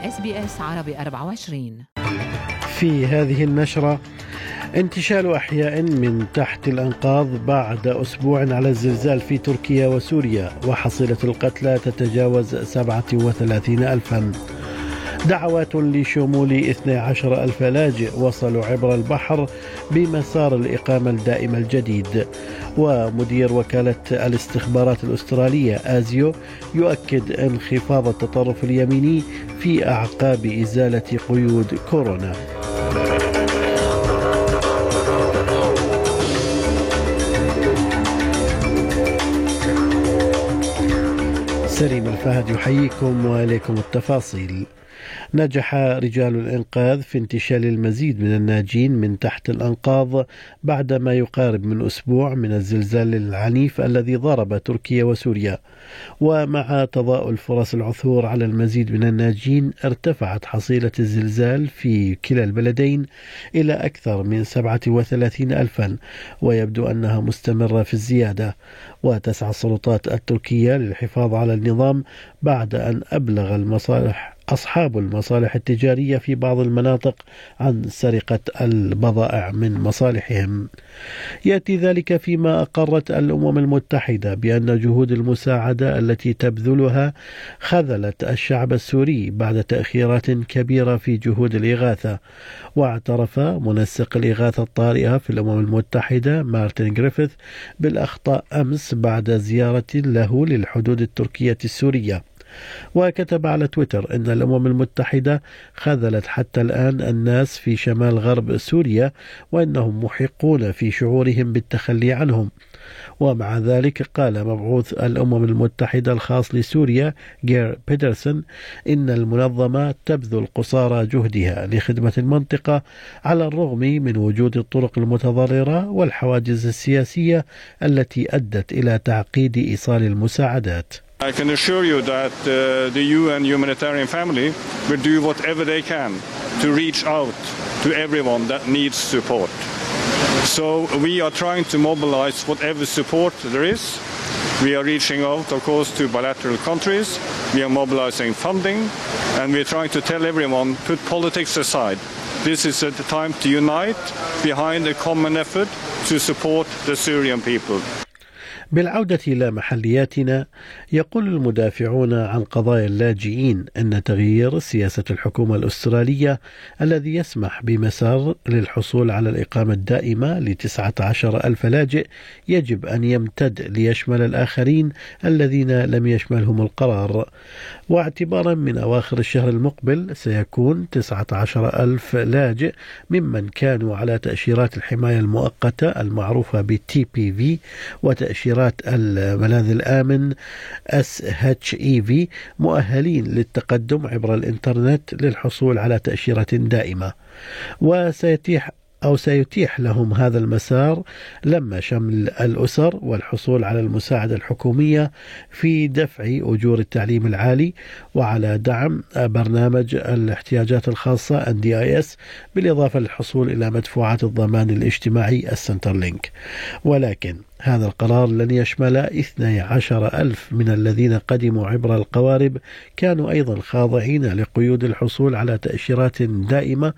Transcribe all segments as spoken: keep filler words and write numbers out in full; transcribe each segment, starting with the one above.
إس بي إس عربي أربعة وعشرين. في هذه النشرة: انتشال أحياء من تحت الأنقاض بعد أسبوع على الزلزال في تركيا وسوريا، وحصيلة القتلى تتجاوز سبعة وثلاثين ألفا. دعوات لشمول اثني عشر ألف لاجئ وصلوا عبر البحر بمسار الإقامة الدائمة الجديد. ومدير وكالة الاستخبارات الأسترالية آزيو يؤكد انخفاض التطرف اليميني في أعقاب إزالة قيود كورونا. سليم الفهد يحييكم وإليكم التفاصيل. نجح رجال الإنقاذ في انتشال المزيد من الناجين من تحت الأنقاض بعد ما يقارب من أسبوع من الزلزال العنيف الذي ضرب تركيا وسوريا. ومع تضاؤل فرص العثور على المزيد من الناجين، ارتفعت حصيلة الزلزال في كلا البلدين إلى أكثر من سبعة وثلاثين ألفا، ويبدو أنها مستمرة في الزيادة. وتسعى السلطات التركية للحفاظ على النظام بعد أن أبلغ المصالح أصحاب المصالح التجارية في بعض المناطق عن سرقة البضائع من مصالحهم. يأتي ذلك فيما أقرت الأمم المتحدة بأن جهود المساعدة التي تبذلها خذلت الشعب السوري بعد تأخيرات كبيرة في جهود الإغاثة. واعترف منسق الإغاثة الطارئة في الأمم المتحدة مارتن غريفيث بالأخطاء أمس بعد زيارة له للحدود التركية السورية. وكتب على تويتر أن الأمم المتحدة خذلت حتى الآن الناس في شمال غرب سوريا، وأنهم محقون في شعورهم بالتخلي عنهم. ومع ذلك قال مبعوث الأمم المتحدة الخاص لسوريا جير بيترسون إن المنظمة تبذل قصارى جهدها لخدمة المنطقة على الرغم من وجود الطرق المتضررة والحواجز السياسية التي أدت إلى تعقيد إيصال المساعدات. I can assure you that uh, the U N humanitarian family will do whatever they can to reach out to everyone that needs support. So we are trying to mobilize whatever support there is. We are reaching out, of course, to bilateral countries. We are mobilizing funding, and we are trying to tell everyone, put politics aside. This is the time to unite behind a common effort to support the Syrian people. بالعودة إلى محلياتنا، يقول المدافعون عن قضايا اللاجئين أن تغيير سياسة الحكومة الأسترالية الذي يسمح بمسار للحصول على الإقامة الدائمة لتسعة عشر ألف لاجئ يجب أن يمتد ليشمل الآخرين الذين لم يشملهم القرار. واعتبارا من أواخر الشهر المقبل سيكون تسعة عشر ألف لاجئ ممن كانوا على تأشيرات الحماية المؤقتة المعروفة ب تي بي في وتأشيرات الملاذ الآمن إس إتش إي في مؤهلين للتقدم عبر الإنترنت للحصول على تأشيرة دائمة. وسيتيح أو سيتيح لهم هذا المسار لما شمل الأسر والحصول على المساعدة الحكومية في دفع أجور التعليم العالي وعلى دعم برنامج الاحتياجات الخاصة إن دي آي إس، بالإضافة للحصول إلى مدفوعات الضمان الاجتماعي السنترلينك. ولكن هذا القرار لن يشمل اثني عشر ألف من الذين قدموا عبر القوارب كانوا أيضا خاضعين لقيود الحصول على تأشيرات دائمة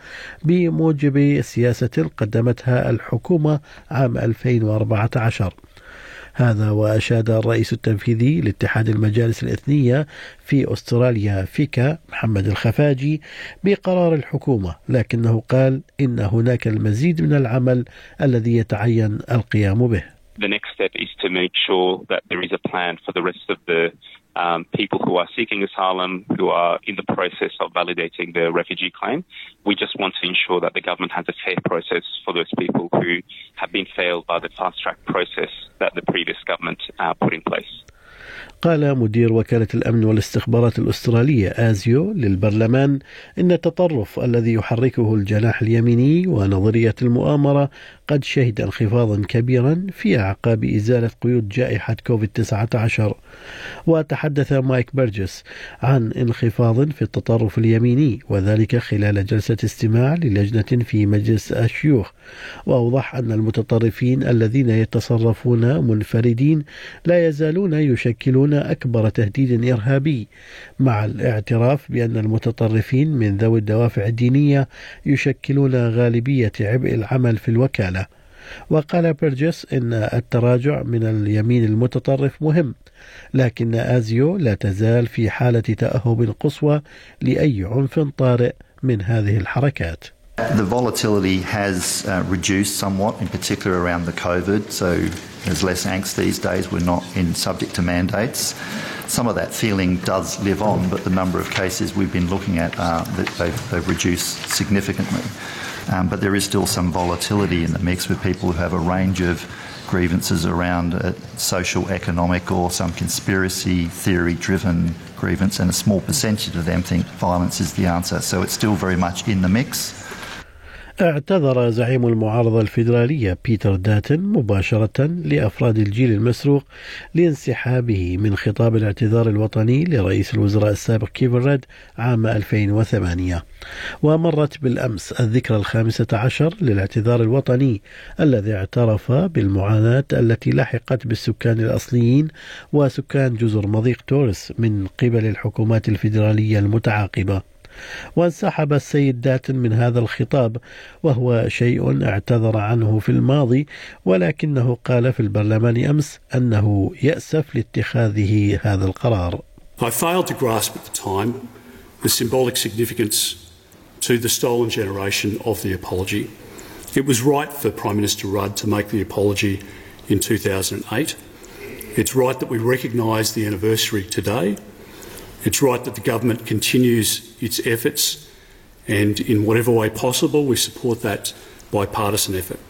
بموجب سياسة قدمتها الحكومة عام ألفين وأربعة عشر. هذا وأشاد الرئيس التنفيذي لاتحاد المجالس الإثنية في أستراليا فيكا محمد الخفاجي بقرار الحكومة، لكنه قال إن هناك المزيد من العمل الذي يتعين القيام به. The next step is to make sure that there is a plan for the rest of the um, people who are seeking asylum, who are in the process of validating their refugee claim. We just want to ensure that the government has a fair process for those people who have been failed by the fast-track process that the previous government uh, put in place. قال مدير وكالة الأمن والاستخبارات الأسترالية آزيو للبرلمان إن التطرف الذي يحركه الجناح اليميني ونظرية المؤامرة قد شهد انخفاضا كبيرا في أعقاب إزالة قيود جائحة كوفيد تسعة عشر. وتحدث مايك بيرجس عن انخفاض في التطرف اليميني، وذلك خلال جلسة استماع للجنة في مجلس الشيوخ، وأوضح أن المتطرفين الذين يتصرفون منفردين لا يزالون يشكلون أكبر تهديد إرهابي، مع الاعتراف بأن المتطرفين من ذوي الدوافع الدينية يشكلون غالبية عبء العمل في الوكالة. وقال بيرجس إن التراجع من اليمين المتطرف مهم، لكن آزيو لا تزال في حالة تأهب قصوى لأي عنف طارئ من هذه الحركات. The volatility has uh, reduced somewhat, in particular around the COVID, so there's less angst these days. We're not in subject to mandates. Some of that feeling does live on, but the number of cases we've been looking at, uh, that they've, they've reduced significantly. Um, but there is still some volatility in the mix with people who have a range of grievances around uh, social, economic, or some conspiracy theory-driven grievance, and a small percentage of them think violence is the answer. So it's still very much in the mix. اعتذر زعيم المعارضة الفيدرالية بيتر داتن مباشرة لأفراد الجيل المسروق لانسحابه من خطاب الاعتذار الوطني لرئيس الوزراء السابق كيفن ريد عام ألفين وثمانية. ومرت بالأمس الذكرى الخامسة عشر للاعتذار الوطني الذي اعترف بالمعاناة التي لحقت بالسكان الأصليين وسكان جزر مضيق تورس من قبل الحكومات الفيدرالية المتعاقبة. وانسحب السيد داتن من هذا الخطاب، وهو شيء اعتذر عنه في الماضي، ولكنه قال في البرلمان أمس أنه يأسف لاتخاذه هذا القرار. I failed to grasp at the time the symbolic significance to the stolen generation of the apology. It was right for Prime Minister Rudd to make the apology in two thousand eight. It's right that we recognise the anniversary today. It's right that the government continues its efforts, and in whatever way possible we support that bipartisan effort.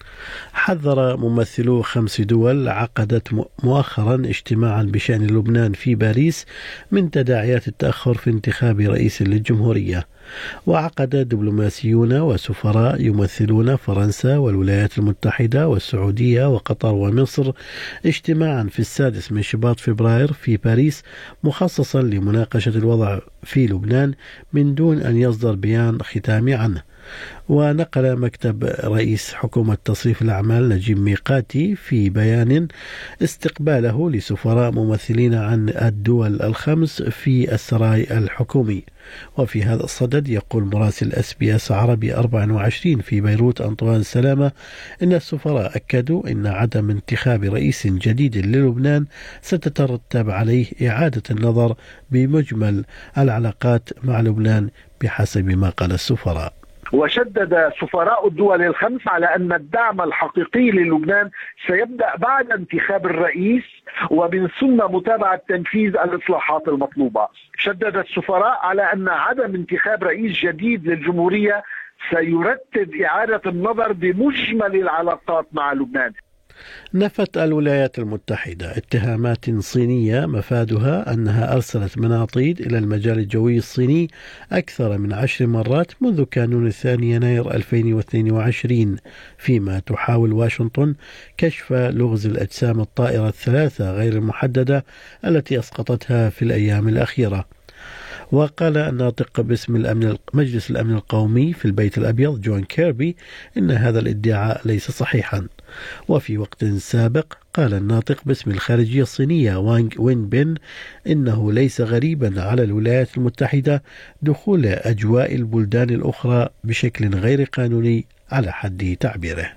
حذر ممثلو خمس دول عقدت مؤخرا اجتماعا بشأن لبنان في باريس من تداعيات التأخر في انتخاب رئيس للجمهورية. وعقد دبلوماسيون وسفراء يمثلون فرنسا والولايات المتحدة والسعودية وقطر ومصر اجتماعا في السادس من شباط فبراير في باريس مخصصا لمناقشة الوضع في لبنان من دون أن يصدر بيان ختامي عنه. ونقل مكتب رئيس حكومة تصريف الأعمال نجيب ميقاتي في بيان استقباله لسفراء ممثلين عن الدول الخمس في السراي الحكومي. وفي هذا الصدد يقول مراسل اس بي اس عربي أربعة وعشرين في بيروت أنطوان سلامة إن السفراء أكدوا إن عدم انتخاب رئيس جديد للبنان ستترتب عليه إعادة النظر بمجمل العلاقات مع لبنان بحسب ما قال السفراء. وشدد سفراء الدول الخمس على أن الدعم الحقيقي للبنان سيبدأ بعد انتخاب الرئيس ومن ثم متابعة تنفيذ الإصلاحات المطلوبة. شدد السفراء على أن عدم انتخاب رئيس جديد للجمهورية سيرتب إعادة النظر بمجمل العلاقات مع لبنان. نفت الولايات المتحدة اتهامات صينية مفادها أنها أرسلت مناطيد إلى المجال الجوي الصيني أكثر من عشر مرات منذ كانون الثاني يناير ألفين واثنين وعشرين، فيما تحاول واشنطن كشف لغز الأجسام الطائرة الثلاثة غير المحددة التي أسقطتها في الأيام الأخيرة. وقال الناطق باسم الأمن مجلس الأمن القومي في البيت الأبيض جون كيربي إن هذا الادعاء ليس صحيحا. وفي وقت سابق قال الناطق باسم الخارجية الصينية وانغ وين بين إنه ليس غريبا على الولايات المتحدة دخول أجواء البلدان الأخرى بشكل غير قانوني على حد تعبيره.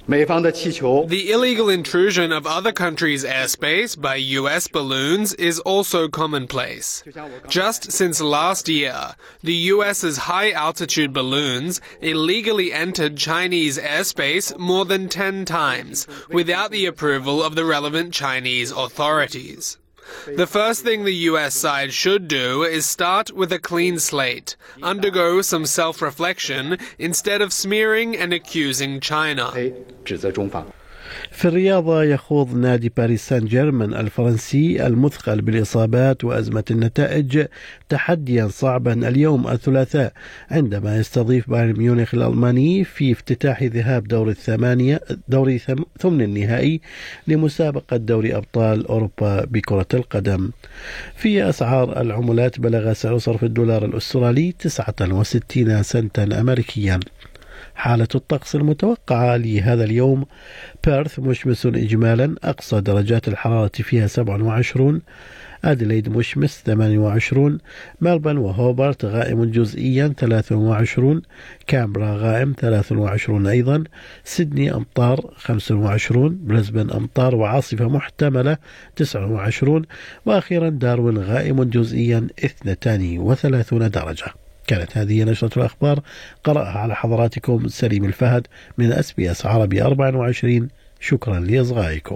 The illegal intrusion of other countries' airspace by U S balloons is also commonplace. Just since last year, the US's high-altitude balloons illegally entered Chinese airspace more than ten times without the approval of the relevant Chinese authorities. The first thing the U S side should do is start with a clean slate, undergo some self-reflection instead of smearing and accusing China. في الرياضة يخوض نادي باريس سان جيرمان الفرنسي المثقل بالإصابات وأزمة النتائج تحديا صعبا اليوم الثلاثاء عندما يستضيف بايرن ميونخ الألماني في افتتاح ذهاب دور الثمانية دوري ثمن النهائي لمسابقة دوري أبطال أوروبا بكرة القدم. في أسعار العملات بلغ سعر صرف الدولار الأسترالي تسعة وستين سنتا أمريكيا. حالة الطقس المتوقعة لهذا اليوم: بيرث مشمس إجمالا، أقصى درجات الحرارة فيها سبعة وعشرين، أديلايد مشمس ثمانية وعشرين، ملبورن وهوبارت غائم جزئيا ثلاثة وعشرين، كامبرا غائم ثلاثة وعشرين أيضا، سيدني أمطار خمسة وعشرين، بريسبن أمطار وعاصفة محتملة تسعة وعشرين، وأخيرا داروين غائم جزئيا اثنتان وثلاثين درجة. كانت هذه نشرة الأخبار قرأها على حضراتكم سليم الفهد من أس بي أس عربي أربعة وعشرين. شكرا لإصغائكم.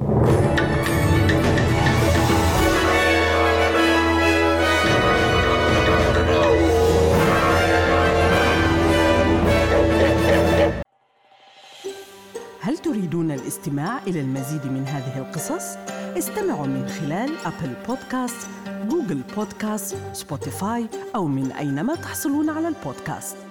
هل تريدون الاستماع إلى المزيد من هذه القصص؟ استمعوا من خلال أبل بودكاست، جوجل بودكاست، سبوتيفاي أو من أينما تحصلون على البودكاست.